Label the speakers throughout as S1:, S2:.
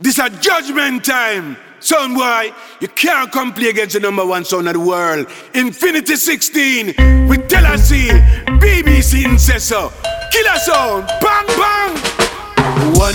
S1: This a judgment time. Sound boy, you can't come play against the number one sound of the world. Infinity 16 with Tennessee, BBC and says so. Killer sound, bang bang. 1,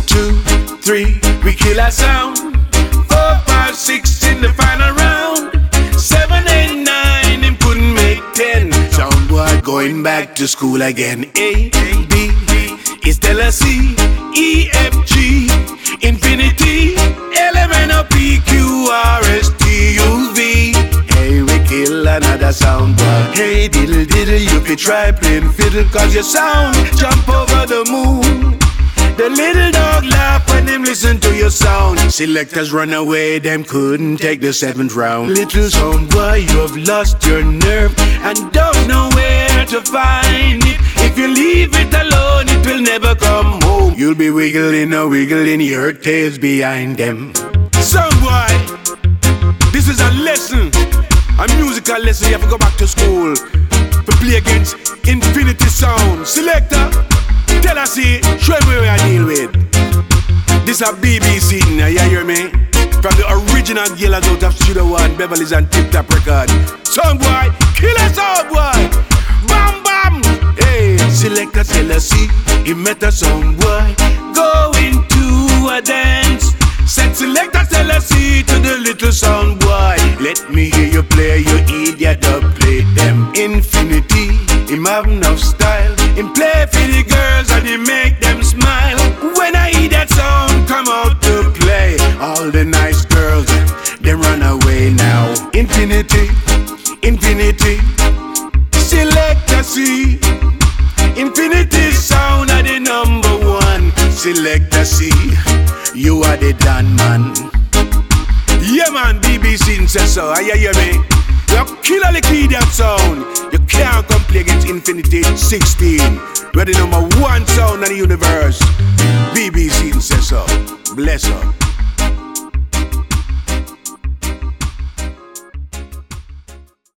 S1: 2, 3, we kill our sound. 4, 5, 6 in the final round. 7, 8, 9, him couldn't make 10. Sound boy going back to school again. A, B, is Tennessee, E, F, G, Infinity, L, M, N, O, P, Q, R, S, T, U, V. Hey, we kill another sound boy. Hey, diddle diddle, you could try playing fiddle, cause your sound jump over the moon. The little dog laugh when them listen to your sound. Selectors run away, them couldn't take the 7th round. Little sound boy, you have lost your nerve and don't know where to find it. If you leave it alone, it will never come home. You'll be wiggling your tails behind them. Sound boy, this is a lesson, a musical lesson. You have to go back to school to play against Infinity Sound. Selector, tell us, see, show me where I deal with. This a BBC, now you hear me? From the original Gillers out of Studio One, Beverly's and Tip Top Record. Sound boy, killer sound boy. Bam bam. Hey, Selector tell us, see, he met a sound boy going to a dance. Said Selector tell us, see, to the little sound boy, let me hear you play, you idiot, dub play them. Infinity, him have enough style. Him play for the girls and he make them smile. When I hear that sound come out to play, all the nice girls, they run away now. Infinity, Infinity, Selector C. Infinity sound are the number one. Selector C, you are the Dan man. Yeah man, BBC says so. You hear me? You kill all the key that sound. You can't come play against Infinity 16. We're the number one sound in the universe. BBC says so. Bless her.